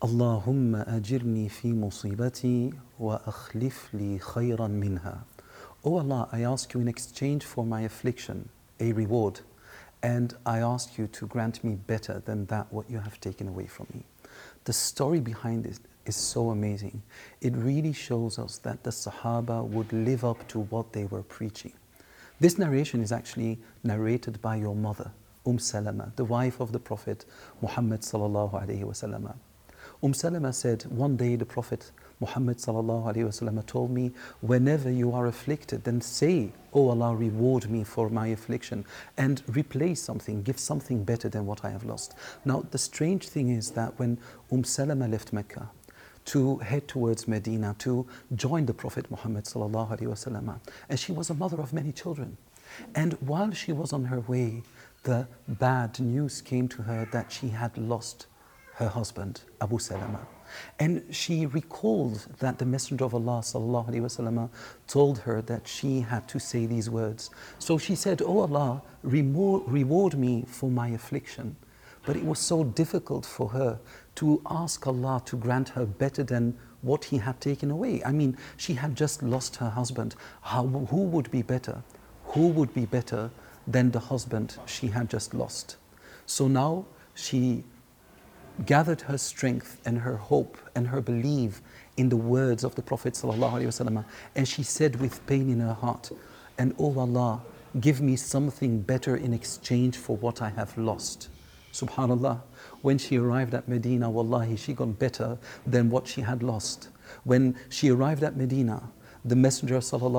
Allahumma ajirni fi musibati wa akhlif li khayran minha. O Allah, I ask you in exchange for my affliction a reward, and I ask you to grant me better than that what you have taken away from me. The story behind it is so amazing. It really shows us that the Sahaba would live up to what they were preaching. This narration is actually narrated by your mother, Salama, the wife of the Prophet Muhammad sallallahu alaihi wasallam. Salama said, one day the Prophet Muhammad sallallahu alaihi wasallam told me, whenever you are afflicted, then say, "Oh Allah, reward me for my affliction and replace something, give something better than what I have lost." Now, the strange thing is that when Salama left Mecca to head towards Medina to join the Prophet Muhammad sallallahu alaihi wasallam, and she was a mother of many children, and while she was on her way, the bad news came to her that she had lost her husband, Abu Salama. And she recalled that the Messenger of Allah sallallahu alaihi wasallam told her that she had to say these words. So she said, "Oh Allah, reward me for my affliction." But it was so difficult for her to ask Allah to grant her better than what He had taken away. I mean, she had just lost her husband. Who would be better? Who would be better than the husband she had just lost? So now she gathered her strength and her hope and her belief in the words of the Prophet ﷺ, and she said with pain in her heart, "And oh Allah, give me something better in exchange for what I have lost." Subhanallah, when she arrived at Medina, wallahi, she got better than what she had lost. When she arrived at Medina, the Messenger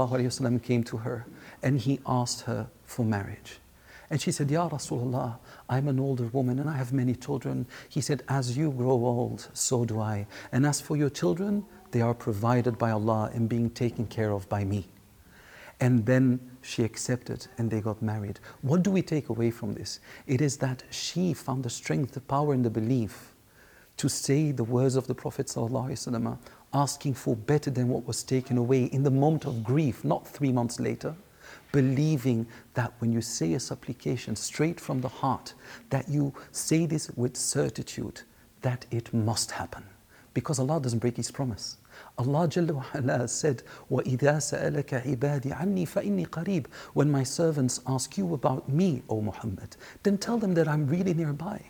ﷺ came to her and he asked her for marriage. And she said, "Ya Rasulullah, I'm an older woman and I have many children." He said, "As you grow old, so do I. And as for your children, they are provided by Allah and being taken care of by me." And then she accepted and they got married. What do we take away from this? It is that she found the strength, the power and the belief to say the words of the Prophet ﷺ, asking for better than what was taken away in the moment of grief, not 3 months later. Believing that when you say a supplication straight from the heart, that you say this with certitude, that it must happen. Because Allah doesn't break His promise. Allah Jalla wa Ala said, وَإِذَا سَأَلَكَ عِبَادِي عَنِّي فَإِنِّي قَرِيبٌ. When my servants ask you about me, O Muhammad, then tell them that I'm really nearby.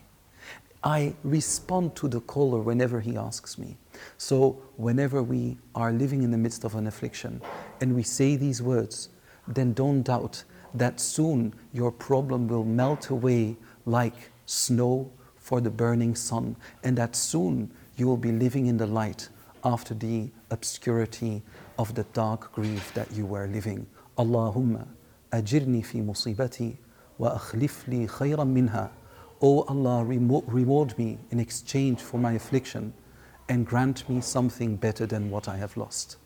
I respond to the caller whenever he asks me. So whenever we are living in the midst of an affliction and we say these words, then don't doubt that soon your problem will melt away like snow for the burning sun, and that soon you will be living in the light after the obscurity of the dark grief that you were living. Allahumma ajirni fi musibati wa akhlif li khayran minha. O Allah, reward me in exchange for my affliction and grant me something better than what I have lost.